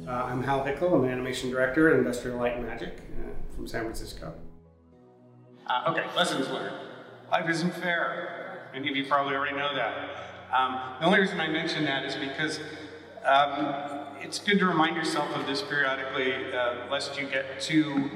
I'm Hal Hickel. I'm an animation director at Industrial Light and Magic from San Francisco. Okay, lessons learned. Life isn't fair. Many of you probably already know that. The only reason I mention that is because it's good to remind yourself of this periodically, lest you get too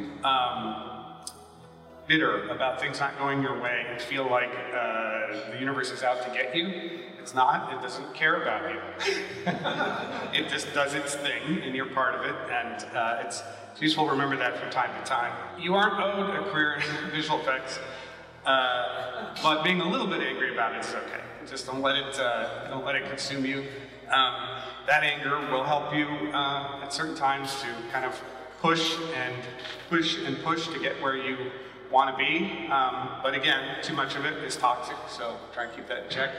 bitter about things not going your way and feel like the universe is out to get you. It's not. It doesn't care about you. It just does its thing, and you're part of it, and it's useful to remember that from time to time. You aren't owed a career in visual effects, but being a little bit angry about it is okay. Just don't let it consume you. That anger will help you at certain times to kind of push to get where you want to be. But again, too much of it is toxic, so try and keep that in check.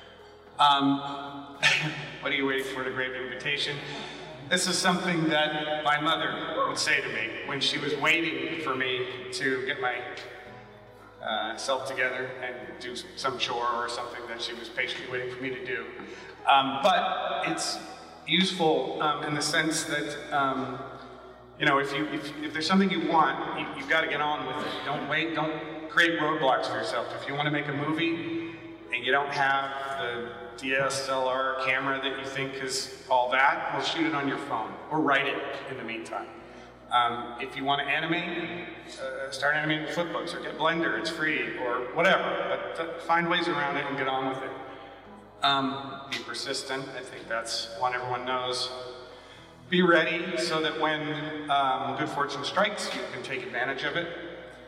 What are you waiting for? The Grave Invitation. This is something that my mother would say to me when she was waiting for me to get my self together and do some chore or something that she was patiently waiting for me to do. But it's useful in the sense that you know, if there's something you want, you've got to get on with it. Don't wait. Don't create roadblocks for yourself. If you want to make a movie and you don't have the DSLR camera that you think is all that, well, shoot it on your phone or write it in the meantime. If you want to animate, start animating with flipbooks or get Blender, it's free, or whatever, but find ways around it and get on with it. Be persistent, I think that's one everyone knows. Be ready so that when good fortune strikes, you can take advantage of it.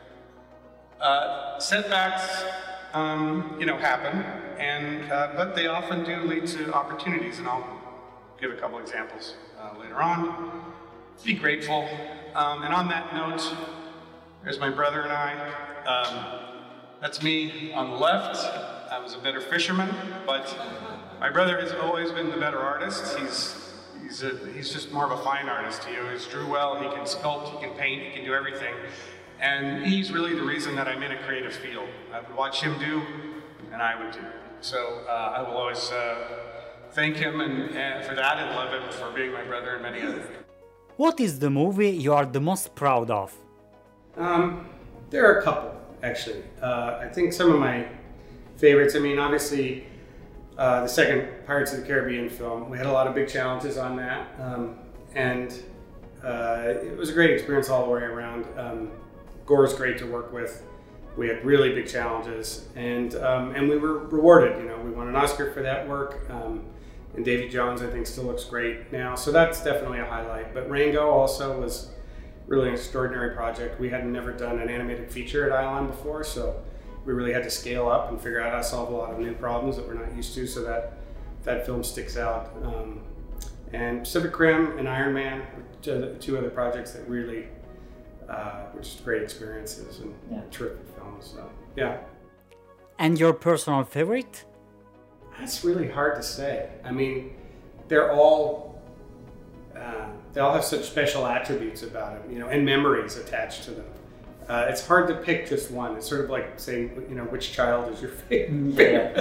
Setbacks, you know, happen, but they often do lead to opportunities, and I'll give a couple examples later on. Be grateful, and on that note, there's my brother and I. That's me on the left. I was a better fisherman, but my brother has always been the better artist. He's just more of a fine artist. He always drew well, he can sculpt, he can paint, he can do everything. And he's really the reason that I'm in a creative field. I would watch him do, and I would do. So I will always thank him and for that, and love him for being my brother and many others. What is the movie you are the most proud of? There are a couple, actually. I think some of my favorites, I mean, obviously, the second Pirates of the Caribbean film, we had a lot of big challenges on that, and it was a great experience all the way around. Gore's great to work with. We had really big challenges, and we were rewarded. You know, we won an Oscar for that work, and Davy Jones, I think, still looks great now. So that's definitely a highlight. But Rango also was really an extraordinary project. We had never done an animated feature at Ion before, so we really had to scale up and figure out how to solve a lot of new problems that we're not used to, so that film sticks out. And Pacific Rim and Iron Man, two other projects that really were just great experiences and terrific films. So yeah. And your personal favorite? That's really hard to say. I mean, they all have such special attributes about them, you know, and memories attached to them. It's hard to pick just one. It's sort of like saying, you know, which child is your favorite.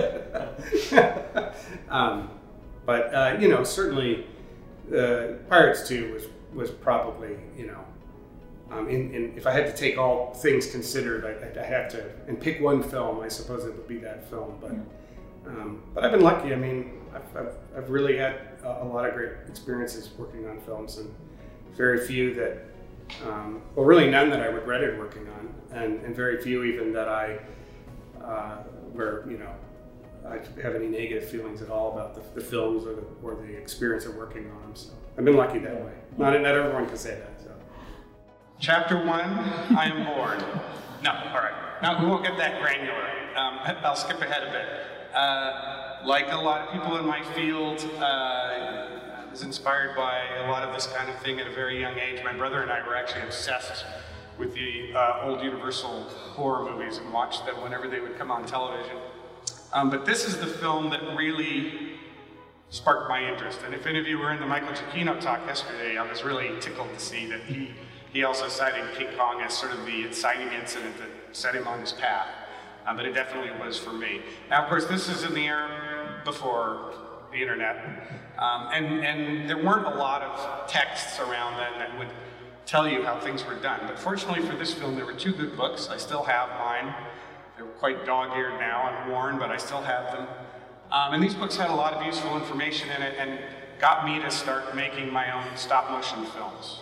But you know, certainly, Pirates 2 was probably, you know, if I had to take all things considered, I'd have to and pick one film. I suppose it would be that film. But I've been lucky. I mean, I've really had a lot of great experiences working on films, and very few that. Well, really none that I regretted working on, and very few even that where, you know, I have any negative feelings at all about the films or the experience of working on them. So I've been lucky that way. Not everyone can say that. So. Chapter 1, I am bored. No, all right. Now we won't get that granular. I'll skip ahead a bit. Like a lot of people in my field, I was inspired by a lot of this kind of thing at a very young age. My brother and I were actually obsessed with the old Universal horror movies and watched them whenever they would come on television. But this is the film that really sparked my interest. And if any of you were in the Michael Giacchino talk yesterday, I was really tickled to see that he also cited King Kong as sort of the inciting incident that set him on his path. But it definitely was for me. Now, of course, this is in the era before the internet. And there weren't a lot of texts around then that would tell you how things were done. But fortunately for this film, there were 2 good books. I still have mine. They're quite dog-eared now and worn, but I still have them. And these books had a lot of useful information in it and got me to start making my own stop-motion films.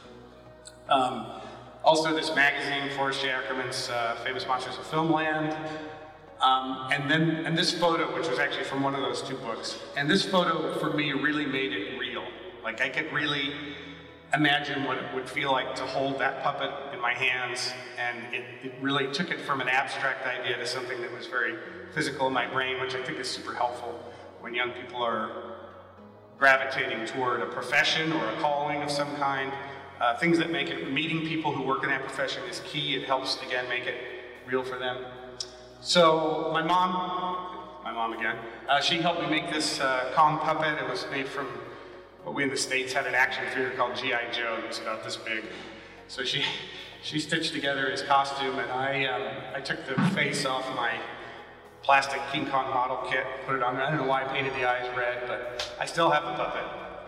Also this magazine, Forrest J. Ackerman's Famous Monsters of Filmland. And this photo, which was actually from one of those 2 books. And this photo, for me, really made it real. Like, I could really imagine what it would feel like to hold that puppet in my hands, and it really took it from an abstract idea to something that was very physical in my brain, which I think is super helpful when young people are gravitating toward a profession or a calling of some kind. Things that make it, meeting people who work in that profession is key. It helps, again, make it real for them. So my mom again, she helped me make this Kong puppet. It was made from what we in the States had an action figure called G.I. Joe. It was about this big. So she stitched together his costume, and I took the face off my plastic King Kong model kit, put it on there. I don't know why I painted the eyes red, but I still have the puppet.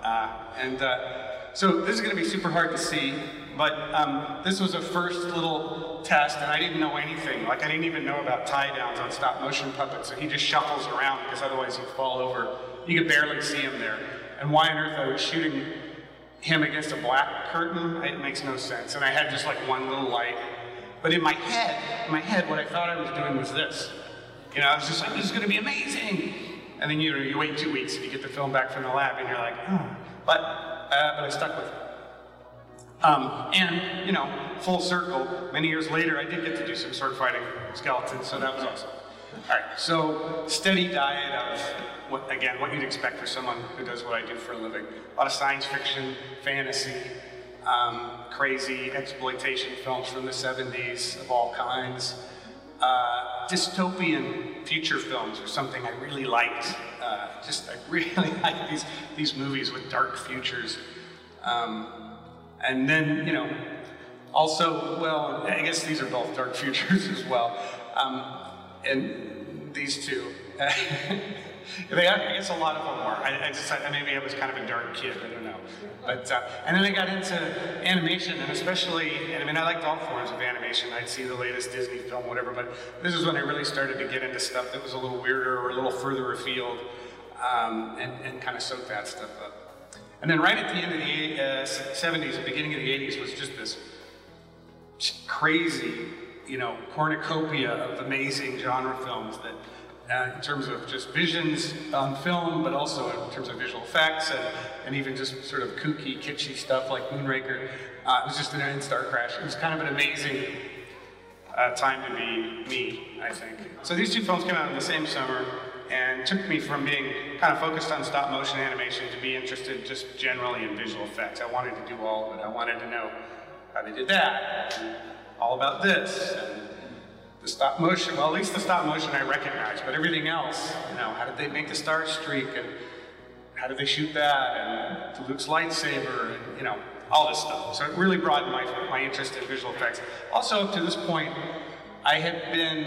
So this is going to be super hard to see, but this was a first little test, and I didn't know anything. Like, I didn't even know about tie-downs on stop-motion puppets, so he just shuffles around because otherwise he'd fall over. You could barely see him there. And why on earth I was shooting him against a black curtain, it makes no sense. And I had just like one little light. But in my head, what I thought I was doing was this. You know, I was just like, this is going to be amazing. And then you wait 2 weeks and you get the film back from the lab and you're like, oh. But I stuck with it. And, you know, full circle, many years later, I did get to do some sword fighting skeletons, so that was awesome. All right, so steady diet of, what you'd expect for someone who does what I do for a living. A lot of science fiction, fantasy, crazy exploitation films from the 70s of all kinds. Dystopian future films are something I really liked. I really like these movies with dark futures. And then, you know, also, well, I guess these are both dark futures as well. And these 2. I guess a lot of them were. Maybe I was kind of a dark kid, I don't know. But, and then I got into animation, and especially, I mean, I liked all forms of animation. I'd see the latest Disney film, whatever, but this is when I really started to get into stuff that was a little weirder or a little further afield, and kind of soak that stuff up. And then right at the end of the 70s, the beginning of the 80s was just this crazy, you know, cornucopia of amazing genre films that, in terms of just visions on film, but also in terms of visual effects and even just sort of kooky, kitschy stuff like Moonraker. It was just an instant crash. It was kind of an amazing time to be me, I think. So these 2 films came out in the same summer and took me from being kind of focused on stop motion animation to be interested just generally in visual effects. I wanted to do all of it. I wanted to know how they did that, and all about this, and the stop motion, well, at least the stop motion I recognize, but everything else, you know, how did they make the star streak, and how did they shoot that, and Luke's lightsaber, and, you know, all this stuff. So it really broadened my interest in visual effects. Also, up to this point, I had been,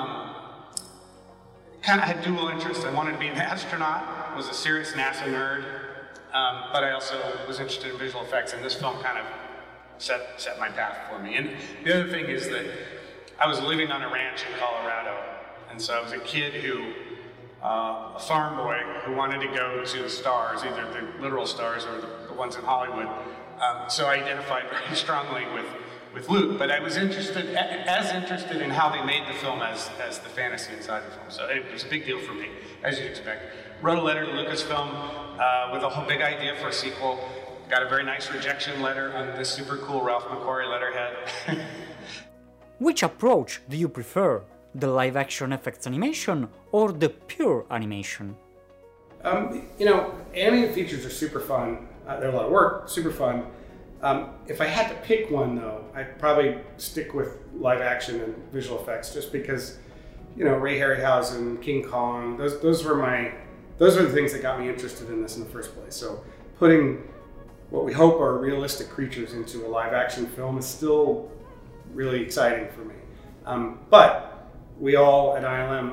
kind of had dual interests. I wanted to be an astronaut, was a serious NASA nerd, but I also was interested in visual effects, and this film kind of set my path for me. And the other thing is that I was living on a ranch in Colorado, and so I was a kid who, a farm boy who wanted to go to the stars, either the literal stars or the ones in Hollywood. So I identified very strongly with Luke, but I was as interested in how they made the film as the fantasy inside the film. So it was a big deal for me, as you'd expect. Wrote a letter to Lucasfilm with a whole big idea for a sequel. Got a very nice rejection letter on this super cool Ralph McQuarrie letterhead. Which approach do you prefer? The live-action effects animation or the pure animation? You know, animated features are super fun. They're a lot of work, super fun. If I had to pick one, though, I'd probably stick with live-action and visual effects, just because, you know, Ray Harryhausen, King Kong, those were the things that got me interested in this in the first place. So putting what we hope are realistic creatures into a live-action film is still really exciting for me. But we all at ILM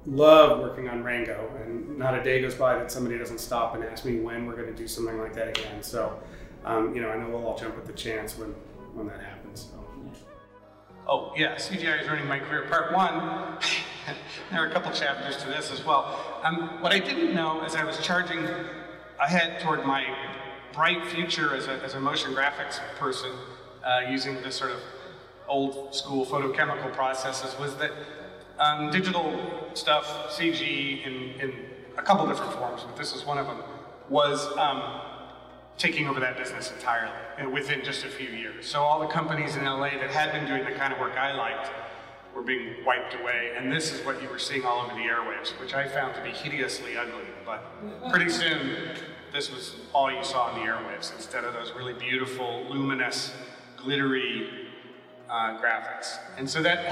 love working on Rango, and not a day goes by that somebody doesn't stop and ask me when we're going to do something like that again. So, you know, I know we'll all jump at the chance when that happens. So. Oh yeah, CGI is ruining my career. Part 1, there are a couple chapters to this as well. What I didn't know as I was charging ahead toward my bright future as a motion graphics person, using this sort of old school photochemical processes, was that digital stuff, CG in a couple different forms, but this is one of them, was taking over that business entirely within just a few years. So all the companies in LA that had been doing the kind of work I liked were being wiped away, and this is what you were seeing all over the airwaves, which I found to be hideously ugly. But pretty soon, this was all you saw on the airwaves, instead of those really beautiful, luminous, glittery graphics. And so that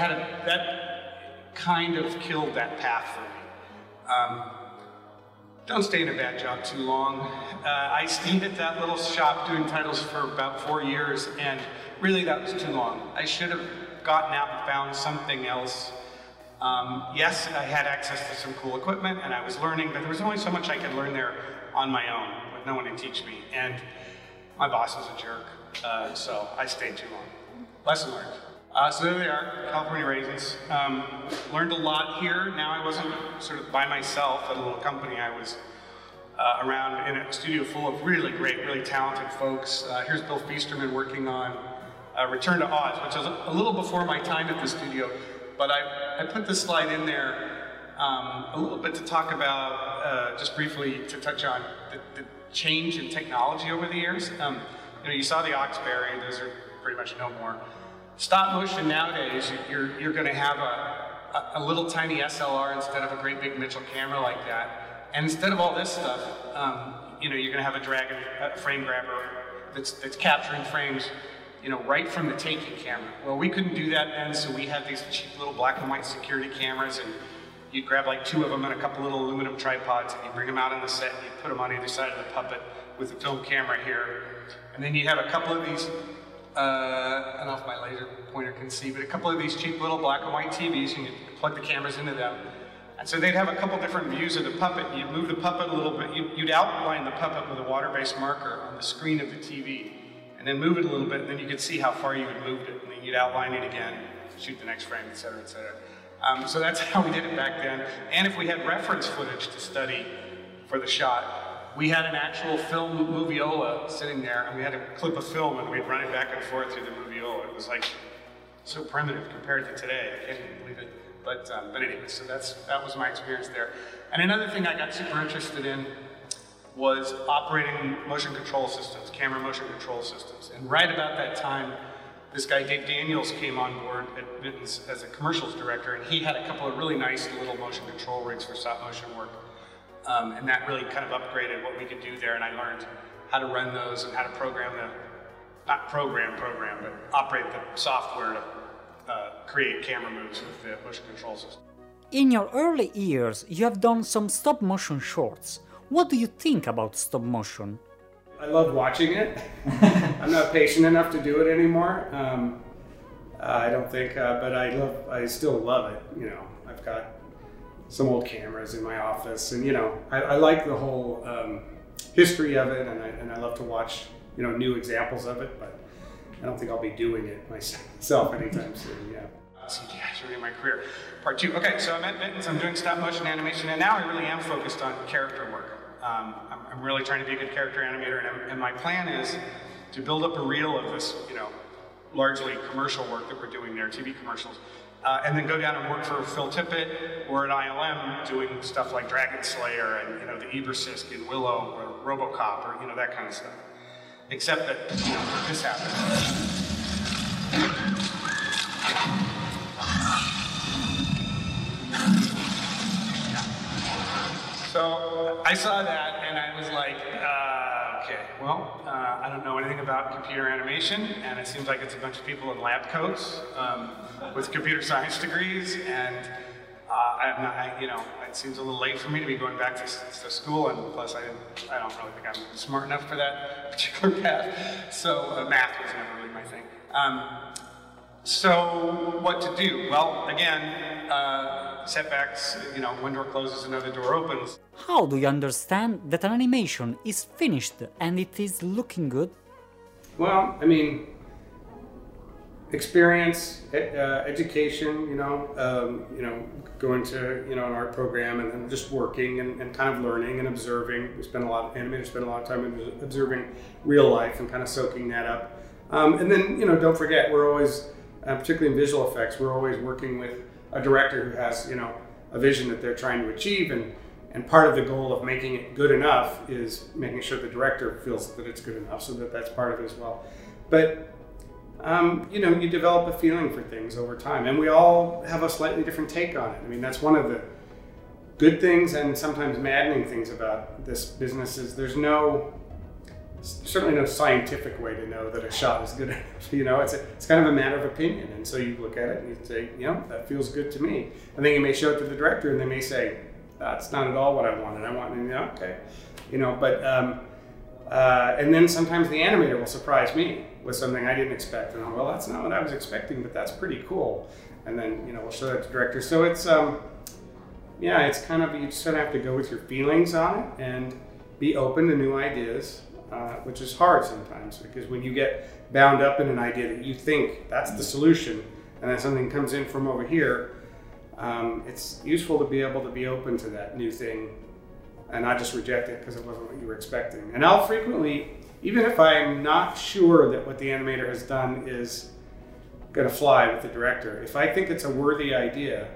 kind of killed that path for me. Don't stay in a bad job too long. I stayed at that little shop doing titles for about 4 years, and really that was too long. I should have gotten out and found something else. Yes, I had access to some cool equipment and I was learning, but there was only so much I could learn there on my own with no one to teach me. And my boss was a jerk, so I stayed too long. Lesson learned. So there they are, California Raisins. Learned a lot here. Now I wasn't sort of by myself at a little company. I was around in a studio full of really great, really talented folks. Here's Bill Feasterman working on Return to Oz, which was a little before my time at the studio. But I put this slide in there a little bit to talk about, just briefly to touch on the change in technology over the years. You know, you saw the Oxberry, those are pretty much no more. Stop motion nowadays, you're going to have a little tiny SLR instead of a great big Mitchell camera like that. And instead of all this stuff, you know, you're going to have a Dragon frame grabber that's capturing frames, you know, right from the taking camera. Well, we couldn't do that then, so we had these cheap little black and white security cameras, and you'd grab like 2 of them and a couple little aluminum tripods, and you bring them out on the set, and you put them on either side of the puppet with the film camera here. And then you have a couple of these, I don't know if my laser pointer can see, but a couple of these cheap little black and white TVs, and you plug the cameras into them. And so they'd have a couple different views of the puppet. You'd move the puppet a little bit. You'd outline the puppet with a water-based marker on the screen of the TV, and then move it a little bit, and then you could see how far you had moved it. And then you'd outline it again, shoot the next frame, et cetera, et cetera. So that's how we did it back then. And if we had reference footage to study for the shot, we had an actual film moviola sitting there, and we had a clip of film, and we'd run it back and forth through the moviola. It was like so primitive compared to today. I can't even believe it. But anyway, so that was my experience there. And another thing I got super interested in was operating motion control systems, camera motion control systems. And right about that time, this guy, Dave Daniels, came on board at Vinton's as a commercials director, and he had a couple of really nice little motion control rigs for stop motion work. And that really kind of upgraded what we could do there, and I learned how to run those and how to program not program, but operate the software to create camera moves with the motion control system. In your early years, you have done some stop motion shorts. What do you think about stop motion? I love watching it. I'm not patient enough to do it anymore. I don't think, but I still love it. You know, I've got some old cameras in my office, and you know, I like the whole history of it, and I love to watch, you know, new examples of it, but I don't think I'll be doing it myself anytime soon, yeah. CGI is really my career. Part 2. Okay, so I'm at Vinton's, I'm doing stop motion animation, and now I really am focused on character work. I'm really trying to be a good character animator, and my plan is to build up a reel of this, you know, largely commercial work that we're doing there, TV commercials, and then go down and work for Phil Tippett or at ILM doing stuff like Dragon Slayer and, you know, the Ebersisk in Willow or RoboCop or, you know, that kind of stuff. Except that, you know, this happened. So I saw that and I was like, okay, well, I don't know anything about computer animation, and it seems like it's a bunch of people in lab coats with computer science degrees, and you know, it seems a little late for me to be going back to school, and plus I don't really think I'm smart enough for that particular path. So math was never really my thing. So what to do? Well, again, setbacks, one door closes, another door opens. How do you understand that an animation is finished and it is looking good? Well, I mean, experience, education, going to, an art program and then just working and kind of learning and observing. Animators spend a lot of time observing real life and kind of soaking that up. And then, don't forget, we're always, particularly in visual effects, we're always working with a director who has, a vision that they're trying to achieve. And part of the goal of making it good enough is making sure the director feels that it's good enough, so that's part of it as well. But you develop a feeling for things over time, and we all have a slightly different take on it. I mean, that's one of the good things and sometimes maddening things about this business is there's certainly no scientific way to know that a shot is good enough. It's kind of a matter of opinion, and so you look at it and you say, that feels good to me. And then you may show it to the director, and they may say, that's not at all what I wanted. I want, okay, and then sometimes the animator will surprise me with something I didn't expect, and well, that's not what I was expecting, but that's pretty cool. And then we'll show that to the director. So it's it's kind of, you just sort of have to go with your feelings on it and be open to new ideas, which is hard sometimes because when you get bound up in an idea that you think that's the solution, and then something comes in from over here, it's useful to be able to be open to that new thing and not just reject it because it wasn't what you were expecting. And I'll frequently, even if I'm not sure that what the animator has done is going to fly with the director, if I think it's a worthy idea,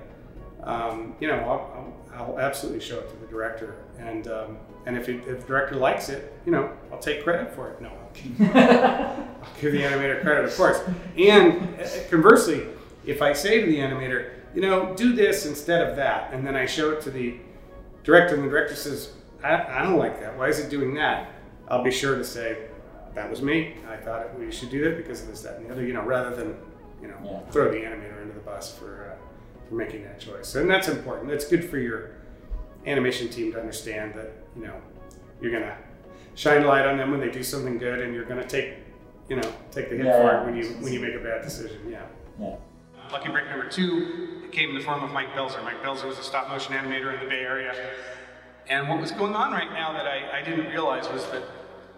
I'll absolutely show it to the director. And if the director likes it, I'll take credit for it. No, I'll give the animator credit, of course. And conversely, if I say to the animator, do this instead of that, and then I show it to the director, and the director says, I don't like that. Why is it doing that? I'll be sure to say, that was me. I thought we should do that because of this, that, and the other, rather than, throw the animator under the bus for making that choice. And that's important. It's good for your animation team to understand that, you're going to shine a light on them when they do something good, and you're going to take the hit for it when you make a bad decision. Yeah. Lucky break number 2 came in the form of Mike Belzer. Mike Belzer was a stop motion animator in the Bay Area. And what was going on right now that I didn't realize was that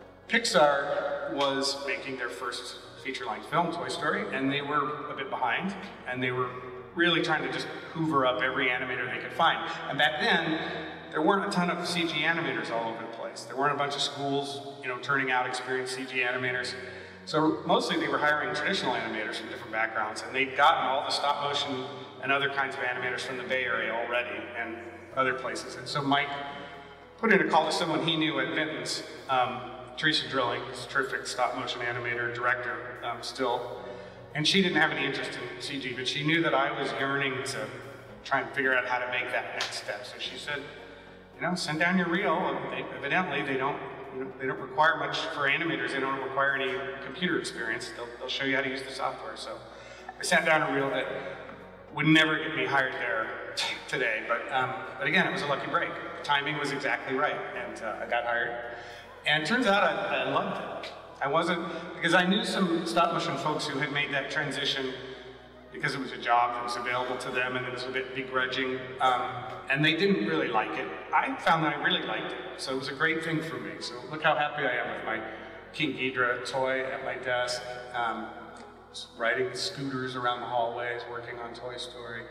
Pixar was making their first feature-length film, Toy Story, and they were a bit behind, and they were really trying to just hoover up every animator they could find. And back then, there weren't a ton of CG animators all over the place. There weren't a bunch of schools, turning out experienced CG animators. So mostly they were hiring traditional animators from different backgrounds, and they'd gotten all the stop motion and other kinds of animators from the Bay Area already and other places. And so Mike put in a call to someone he knew at Vinton's, Teresa Drilling, who's a terrific stop motion animator, director still. And she didn't have any interest in CG, but she knew that I was yearning to try and figure out how to make that next step. So she said, send down your reel. Evidently, they don't require much for animators. They don't require any computer experience. They'll show you how to use the software. So I sent down a reel that would never get me hired there today. But again, it was a lucky break. The timing was exactly right, and I got hired. And it turns out I loved it. Because I knew some stop motion folks who had made that transition because it was a job that was available to them and it was a bit begrudging, and they didn't really like it. I found that I really liked it, so it was a great thing for me. So look how happy I am with my King Ghidorah toy at my desk, riding scooters around the hallways, working on Toy Story.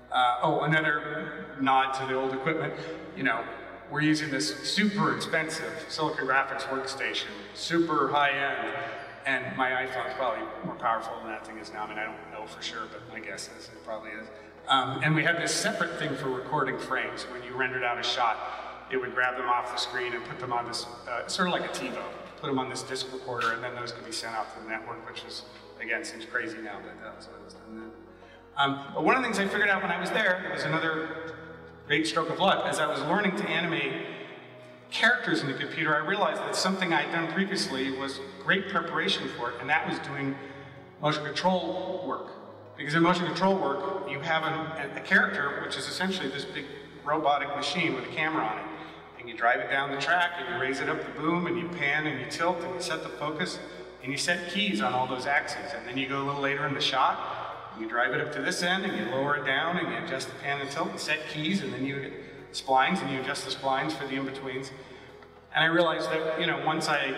Another nod to the old equipment, we're using this super expensive Silicon Graphics workstation, super high-end, and my iPhone's probably more powerful than that thing is now. I mean, I don't know for sure, but my guess is it probably is. And we had this separate thing for recording frames. When you rendered out a shot, it would grab them off the screen and put them on this, sort of like a TiVo, put them on this disc recorder, and then those could be sent out to the network, which was, again, seems crazy now, but that was what it was done then. But one of the things I figured out when I was there, it was another great stroke of luck. As I was learning to animate characters in the computer, I realized that something I'd done previously was great preparation for it, and that was doing motion control work. Because in motion control work, you have a character, which is essentially this big robotic machine with a camera on it. And you drive it down the track, and you raise it up the boom, and you pan, and you tilt, and you set the focus, and you set keys on all those axes. And then you go a little later in the shot, You drive it up to this end and you lower it down and you adjust the pan and tilt and set keys, and then you get splines and you adjust the splines for the in-betweens. And I realized that, you know, once I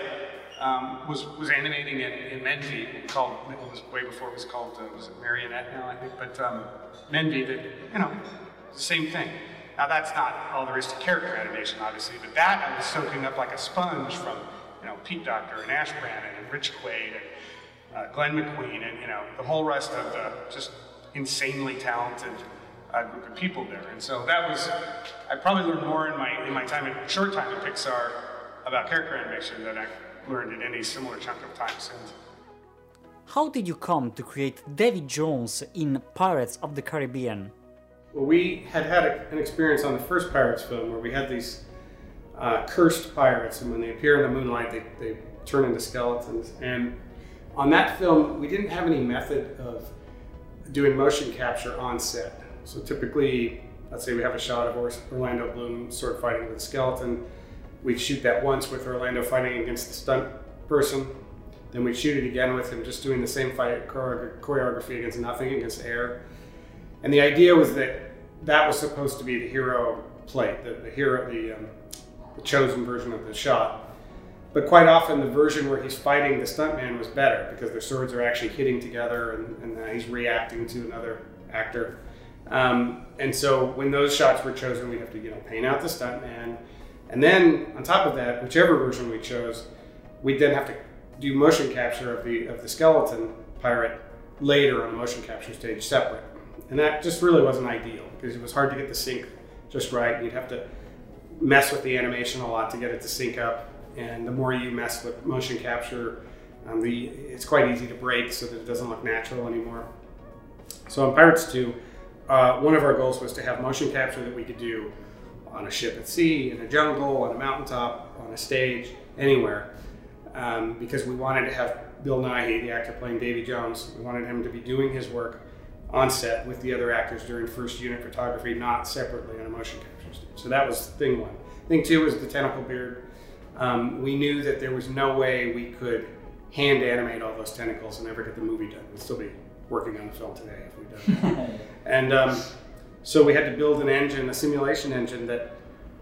was animating it in Menvy, it was way before it was called, was it Marionette now, I think, but Menvy, that, you know, same thing. Now that's not all there is to character animation, obviously, but that I was soaking up like a sponge from, you know, Pete Docter and Ash Brannon and Rich Quaid and Glenn McQueen and, you know, the whole rest of the just insanely talented group of people there. And so that was, I probably learned more in my short time at Pixar about character animation than I learned in any similar chunk of time since. How did you come to create Davy Jones in Pirates of the Caribbean? Well, we had an experience on the first Pirates film where we had these cursed pirates, and when they appear in the moonlight, they turn into skeletons. And on that film, we didn't have any method of doing motion capture on set. So typically, let's say we have a shot of Orlando Bloom sword fighting with a skeleton. We'd shoot that once with Orlando fighting against the stunt person. Then we'd shoot it again with him just doing the same fight choreography against nothing, against air. And the idea was that that was supposed to be the hero plate, the chosen version of the shot. But quite often the version where he's fighting the stuntman was better because their swords are actually hitting together and he's reacting to another actor. And so when those shots were chosen, we'd have to, you know, paint out the stuntman. And then on top of that, whichever version we chose, we'd then have to do motion capture of the skeleton pirate later on the motion capture stage separate. And that just really wasn't ideal because it was hard to get the sync just right. You'd have to mess with the animation a lot to get it to sync up. And the more you mess with motion capture, it's quite easy to break so that it doesn't look natural anymore. So in Pirates 2, one of our goals was to have motion capture that we could do on a ship at sea, in a jungle, on a mountaintop, on a stage, anywhere. Because we wanted to have Bill Nighy, the actor playing Davy Jones, we wanted him to be doing his work on set with the other actors during first unit photography, not separately on a motion capture stage. So that was thing one. Thing two was the tentacle beard. We knew that there was no way we could hand animate all those tentacles and ever get the movie done. We'd still be working on the film today if we'd done that. And so we had to build an engine, a simulation engine that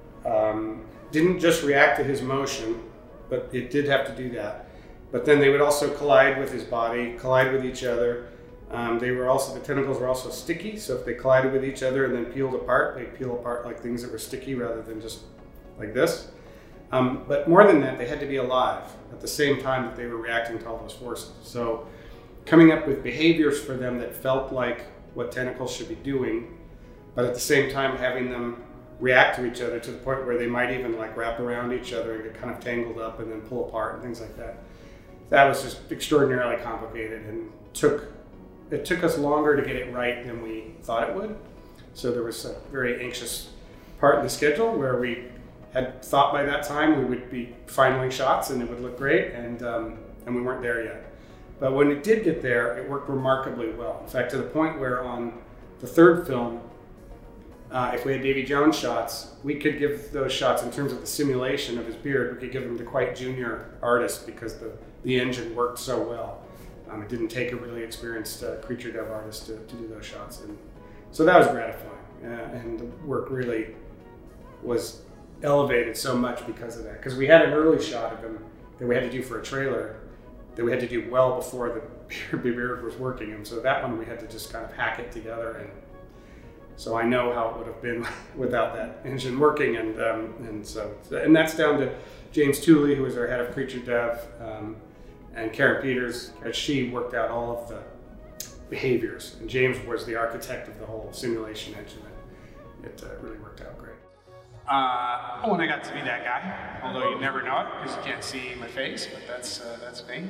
didn't just react to his motion, but it did have to do that. But then they would also collide with his body, collide with each other. The tentacles were also sticky, so if they collided with each other and then peeled apart, they'd peel apart like things that were sticky rather than just like this. But more than that, they had to be alive at the same time that they were reacting to all those forces. So coming up with behaviors for them that felt like what tentacles should be doing, but at the same time having them react to each other to the point where they might even like wrap around each other and get kind of tangled up and then pull apart and things like that. That was just extraordinarily complicated and it took us longer to get it right than we thought it would. So there was a very anxious part in the schedule where we had thought by that time we would be finaling shots and it would look great, and we weren't there yet. But when it did get there, it worked remarkably well. In fact, to the point where on the third film, if we had Davy Jones shots, we could give those shots in terms of the simulation of his beard, we could give them to quite junior artists because the engine worked so well. It didn't take a really experienced creature dev artist to do those shots. And so that was gratifying. And the work really was elevated so much because of that. Because we had an early shot of him that we had to do for a trailer that we had to do well before the beard was working. And so that one we had to just kind of hack it together. And so I know how it would have been without that engine working. And that's down to James Tooley, who was our head of creature dev, and Karen Peters, as she worked out all of the behaviors. And James was the architect of the whole simulation engine. It really worked out great. And I got to be that guy, although you never know it because you can't see my face, but that's me.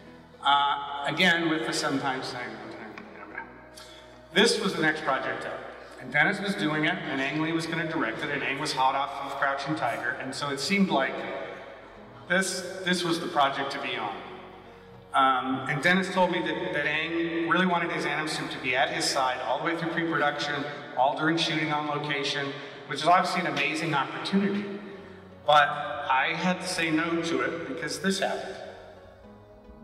Again, with the sometimes thing. This was the next project up. And Dennis was doing it, and Ang Lee was going to direct it, and Ang was hot off of Crouching Tiger, and so it seemed like this was the project to be on. And Dennis told me that Ang really wanted his anim suit to be at his side all the way through pre-production, all during shooting on location, which is obviously an amazing opportunity. But I had to say no to it because this happened.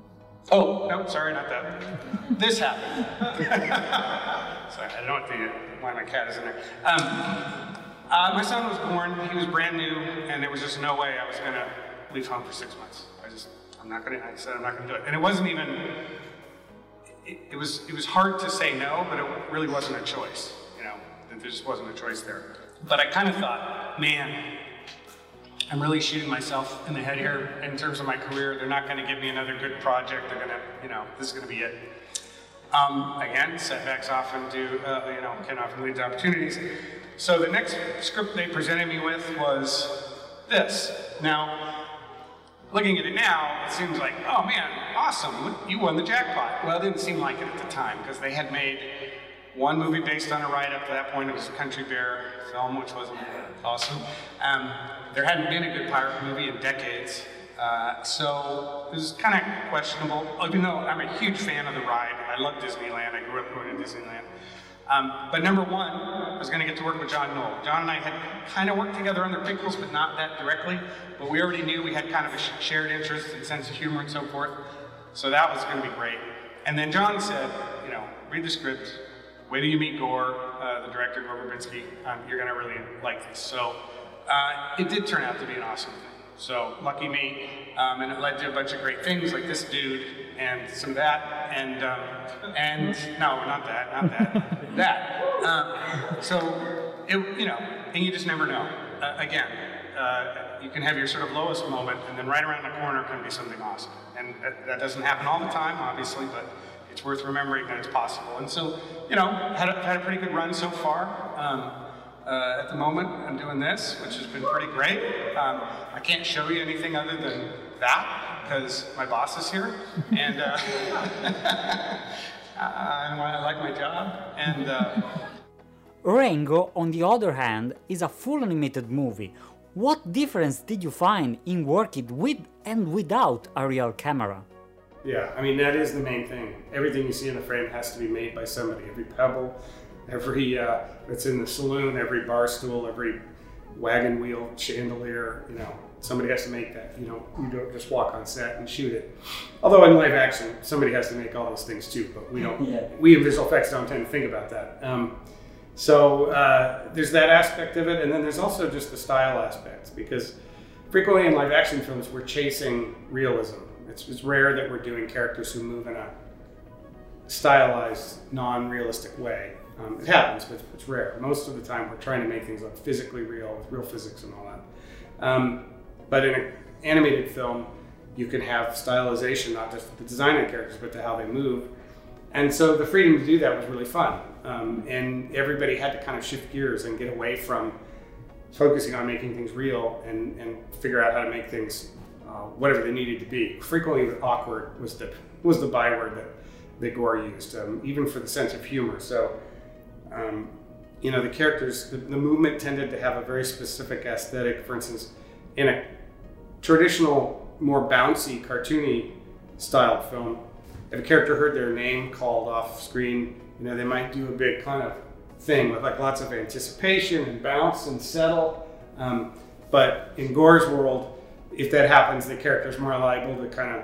Oh, no, sorry, not that. This happened. Sorry, I don't know why my cat is in there. My son was born, he was brand new, and there was just no way I was gonna leave home for 6 months. I said I'm not gonna do it. And it wasn't even, it was hard to say no, but it really wasn't a choice, you know, there just wasn't a choice there. But I kind of thought, man, I'm really shooting myself in the head here in terms of my career. They're not going to give me another good project. They're going to, you know, this is going to be it. Again, setbacks often can often lead to opportunities. So the next script they presented me with was this. Now, looking at it now, it seems like, oh man, awesome, you won the jackpot. Well, it didn't seem like it at the time because they had made one movie based on a ride up to that point. It was a Country Bear film, which was awesome. There hadn't been a good pirate movie in decades, so it was kind of questionable, even though I'm a huge fan of the ride. I love Disneyland, I grew up going to Disneyland. But number one, I was going to get to work with John Knoll. John and I had kind of worked together on the prequels, but not that directly, but we already knew we had kind of a shared interest and sense of humor and so forth, so that was going to be great. And then John said, you know, read the script, wait till you meet Gore, the director, Gore Verbinski, you're going to really like this. So it did turn out to be an awesome thing. So lucky me, and it led to a bunch of great things like this dude and some of that, and no, not that, that. So it, you know, and you just never know. Again, you can have your sort of lowest moment, and then right around the corner can be something awesome. And that doesn't happen all the time, obviously, but it's worth remembering that it's possible. And so, you know, had a pretty good run so far. At the moment, I'm doing this, which has been pretty great. I can't show you anything other than that, because my boss is here, and I like my job, and... Rango, on the other hand, is a full animated movie. What difference did you find in working with and without a real camera? Yeah, I mean, that is the main thing. Everything you see in the frame has to be made by somebody. Every pebble, every that's in the saloon, every bar stool, every wagon wheel, chandelier, you know, somebody has to make that. You don't just walk on set and shoot it. Although in live action, somebody has to make all those things too, but we don't, we in visual effects don't tend to think about that. So there's that aspect of it, and then there's also just the style aspects, because frequently in live action films, we're chasing realism. It's rare that we're doing characters who move in a stylized, non-realistic way. It happens, but it's rare. Most of the time, we're trying to make things look physically real, with real physics and all that. But in an animated film, you can have stylization, not just the design of the characters, but to how they move. And so the freedom to do that was really fun. And everybody had to kind of shift gears and get away from focusing on making things real and figure out how to make things whatever they needed to be. Frequently, awkward was the byword that Gore used, even for the sense of humor. So, you know, the characters, the movement tended to have a very specific aesthetic. For instance, in a traditional, more bouncy, cartoony style film, if a character heard their name called off screen, you know, they might do a big kind of thing with like lots of anticipation and bounce and settle. But in Gore's world, if that happens, the character's more liable to kind of,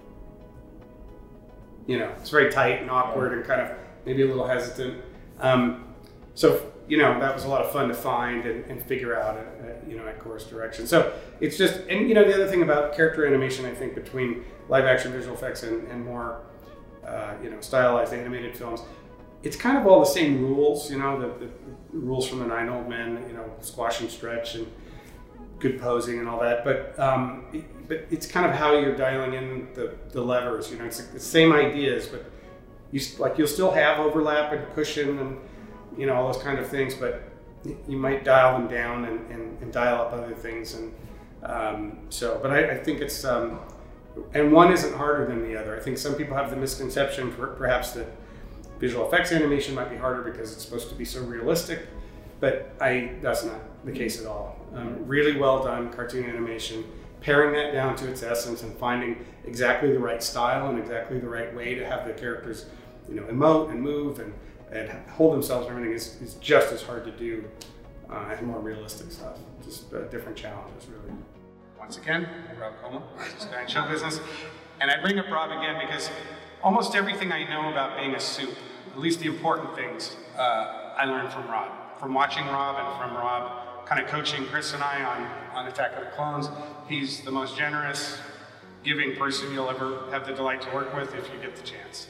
you know, it's very tight and awkward and kind of maybe a little hesitant. So, you know, that was a lot of fun to find and figure out, you know, at Gore's direction. So it's just, and you know, the other thing about character animation, I think, between live action visual effects and more, you know, stylized animated films, it's kind of all the same rules, you know, the rules from the 9 Old Men, you know, squash and stretch and good posing and all that, but it's kind of how you're dialing in the levers, you know, it's the same ideas, but you'll still have overlap and cushion and, you know, all those kind of things, but you might dial them down and dial up other things, and but I think it's, and one isn't harder than the other. I think some people have the misconception perhaps that visual effects animation might be harder because it's supposed to be so realistic, but that's not the case at all. Really well done cartoon animation, paring that down to its essence and finding exactly the right style and exactly the right way to have the characters, you know, emote and move and hold themselves and everything is just as hard to do as more realistic stuff. Just different challenges, really. once again, Rob Como, artist guy in show business. And I bring up Rob again because almost everything I know about being a soup, at least the important things, I learned from Rob. From watching Rob and from Rob kind of coaching Chris and I on Attack of the Clones. He's the most generous, giving person you'll ever have the delight to work with if you get the chance.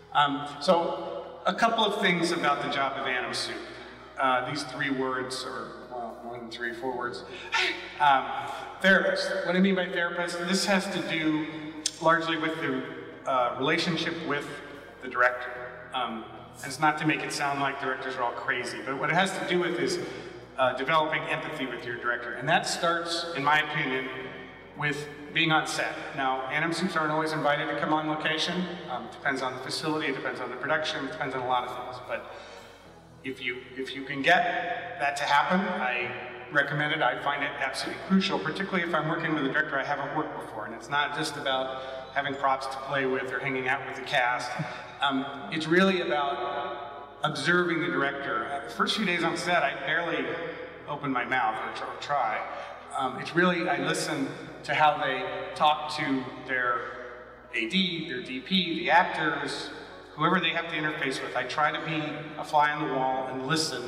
So a couple of things about the job of Anim Soup. These 3 words, or well, more than 3, 4 words. Therapist. What I mean by therapist, this has to do largely with the relationship with the director. And it's not to make it sound like directors are all crazy, but what it has to do with is developing empathy with your director. And that starts, in my opinion, with being on set. Now, Anim Soups aren't always invited to come on location. Depends on the facility, it depends on the production, it depends on a lot of things. But if you can get that to happen, I recommend it. I find it absolutely crucial, particularly if I'm working with a director I haven't worked before. And it's not just about having props to play with or hanging out with the cast. It's really about observing the director. The first few days on set, I barely open my mouth or try. It's really, I listen to how they talk to their AD, their DP, the actors, whoever they have to interface with. I try to be a fly on the wall and listen.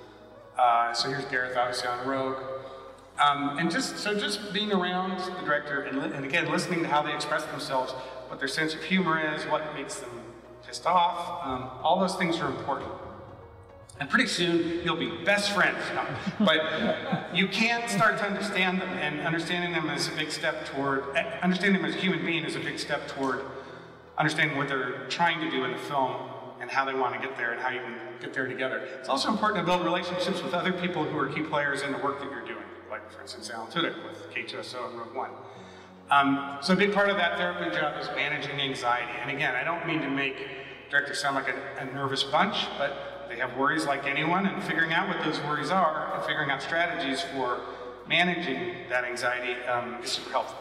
So here's Gareth, obviously on Rogue. And just being around the director and again, listening to how they express themselves, what their sense of humor is, what makes them pissed off, all those things are important. And pretty soon, you'll be best friends. No. But you can start to understand them, and understanding them is a big step toward, understanding them as a human being is a big step toward understanding what they're trying to do in the film and how they want to get there and how you can get there together. It's also important to build relationships with other people who are key players in the work that you're doing, like, for instance, Alan Tudyk with K2SO and Rogue One. So a big part of that therapy job is managing anxiety. And again, I don't mean to make directors sound like a nervous bunch, but they have worries like anyone, and figuring out what those worries are and figuring out strategies for managing that anxiety is super helpful.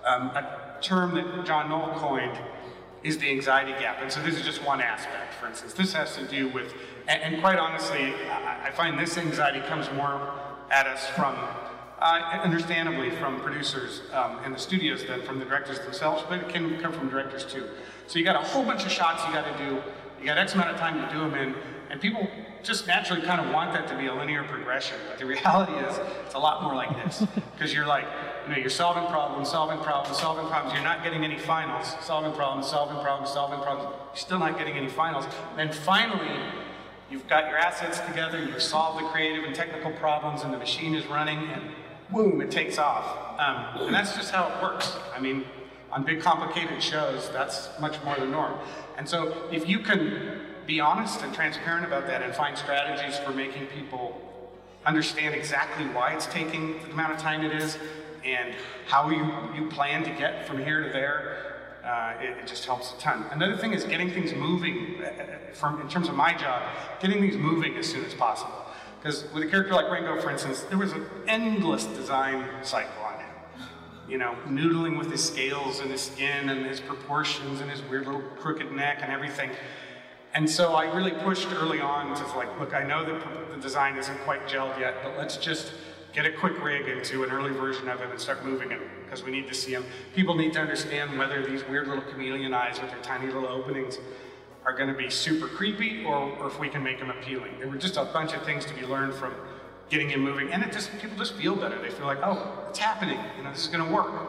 A term that John Knoll coined is the anxiety gap. And so this is just one aspect, for instance. This has to do with, and quite honestly, I find this anxiety comes more at us from, understandably, from producers and the studios than from the directors themselves, but it can come from directors too. So you got a whole bunch of shots you got to do, you got X amount of time to do them in, and people just naturally kind of want that to be a linear progression. But the reality is, it's a lot more like this. Because you're like, you know, you're solving problems, solving problems, solving problems. You're not getting any finals. Solving problems, solving problems, solving problems. You're still not getting any finals. And then finally, you've got your assets together, you've solved the creative and technical problems, and the machine is running, and boom, it takes off. And that's just how it works. I mean, on big complicated shows, that's much more the norm. And so if you can be honest and transparent about that and find strategies for making people understand exactly why it's taking the amount of time it is and how you plan to get from here to there, it just helps a ton. Another thing is getting things moving, in terms of my job, getting things moving as soon as possible. Because with a character like Rango, for instance, there was an endless design cycle on him. You know, noodling with his scales and his skin and his proportions and his weird little crooked neck and everything. And so I really pushed early on to like, look, I know that the design isn't quite gelled yet, but let's just get a quick rig into an early version of it and start moving it, because we need to see them. People need to understand whether these weird little chameleon eyes with their tiny little openings are going to be super creepy, or if we can make them appealing. There were just a bunch of things to be learned from getting him moving, and people just feel better. They feel like, oh, it's happening, you know, this is going to work.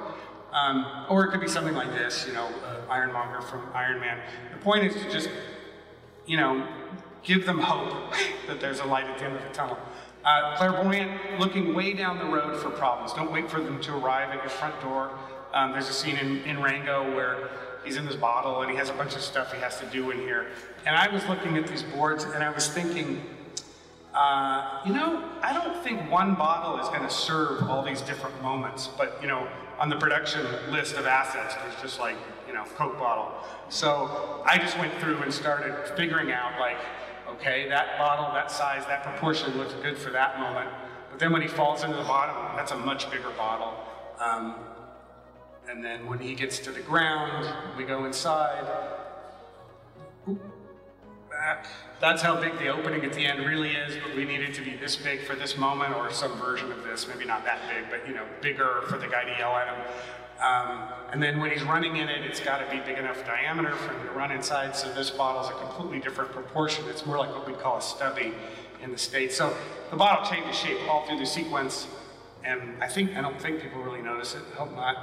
Or it could be something like this, you know, Ironmonger from Iron Man. The point is to just, you know, give them hope that there's a light at the end of the tunnel. Clairvoyant, looking way down the road for problems. Don't wait for them to arrive at your front door. There's a scene in Rango where he's in this bottle and he has a bunch of stuff he has to do in here. And I was looking at these boards and I was thinking, you know, I don't think one bottle is going to serve all these different moments. But, you know, on the production list of assets, there's just like, you know, Coke bottle. So I just went through and started figuring out, like, okay, that bottle, that size, that proportion looks good for that moment. But then when he falls into the bottom, that's a much bigger bottle. And then when he gets to the ground, we go inside. that's how big the opening at the end really is, but we need it to be this big for this moment, or some version of this, maybe not that big, but you know, bigger for the guy to yell at him. And then when he's running in it, it's got to be big enough diameter for him to run inside, so this bottle's a completely different proportion. It's more like what we call a stubby in the States. So the bottle changes shape all through the sequence, and I don't think people really notice it, I hope not.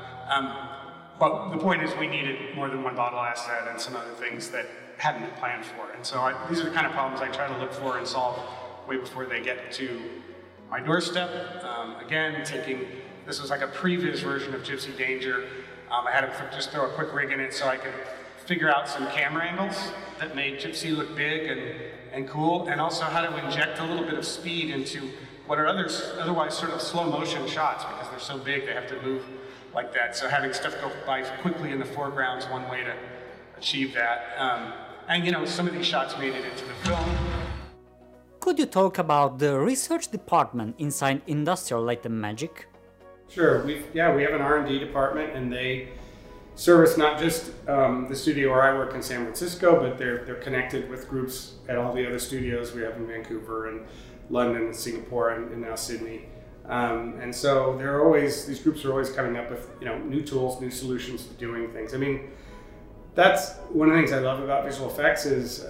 But the point is we needed more than one bottle asset and some other things that hadn't been planned for. And so these are the kind of problems I try to look for and solve way before they get to my doorstep. Again, this was like a previous version of Gypsy Danger. I had to just throw a quick rig in it so I could figure out some camera angles that made Gypsy look big and cool, and also how to inject a little bit of speed into what are otherwise sort of slow motion shots, because they're so big they have to move like that. So having stuff go by quickly in the foreground is one way to achieve that. And you know, some of these shots made it into the film. Could you talk about the research department inside Industrial Light and Magic? Sure. We have an R&D department, and they service not just the studio where I work in San Francisco, but they're connected with groups at all the other studios we have in Vancouver and London and Singapore and now Sydney. And so these groups are always coming up with, you know, new tools, new solutions to doing things. I mean, that's one of the things I love about visual effects is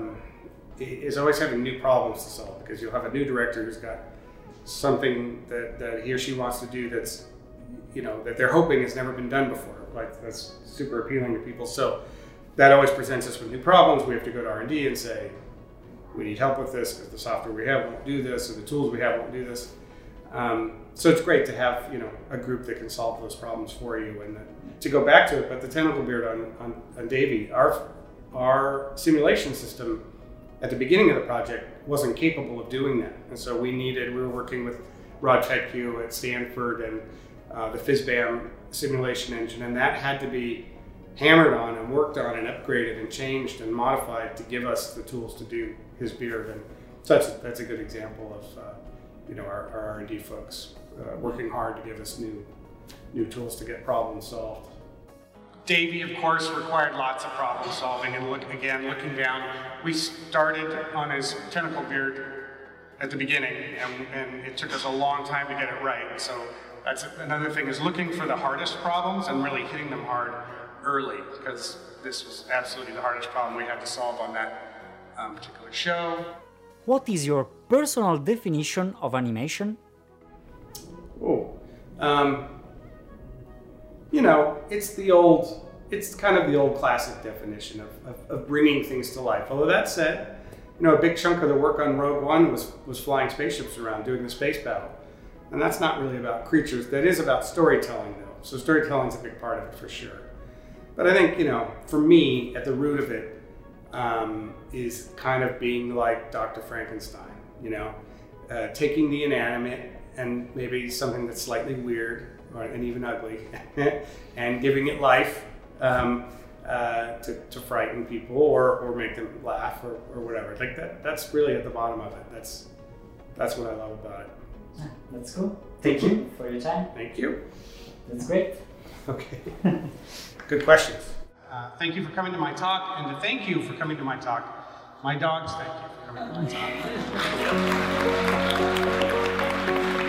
always having new problems to solve, because you'll have a new director who's got something that he or she wants to do that's, you know, that they're hoping has never been done before. Like, that's super appealing to people. So that always presents us with new problems. We have to go to R&D and say, we need help with this because the software we have won't do this, or the tools we have won't do this. So it's great to have, you know, a group that can solve those problems for you. And to go back to it, but the tentacle beard on Davey, our simulation system at the beginning of the project wasn't capable of doing that. And so we were working with Rod Tedke at Stanford and the FizzBAM simulation engine, and that had to be hammered on and worked on and upgraded and changed and modified to give us the tools to do his beard. And so that's a good example of you know, our R&D folks working hard to give us new tools to get problems solved. Davey, of course, required lots of problem solving, and looking down, we started on his tentacle beard at the beginning, and it took us a long time to get it right. So that's another thing, is looking for the hardest problems and really hitting them hard early, because this was absolutely the hardest problem we had to solve on that particular show. What is your personal definition of animation? You know, it's kind of the old classic definition of bringing things to life. Although that said, you know, a big chunk of the work on Rogue One was flying spaceships around, doing the space battle. And that's not really about creatures. That is about storytelling, though. So storytelling's a big part of it for sure. But I think, you know, for me, at the root of it is kind of being like Dr. Frankenstein, you know, taking the inanimate and maybe something that's slightly weird and even ugly and giving it life to frighten people or make them laugh or whatever. Like that's really at the bottom of it. That's what I love about it. That's cool. Thank you for your time. Thank you. That's great. Okay. Good questions. Thank you for coming to my talk, and to thank you for coming to my talk. My dogs, thank you for coming to my talk.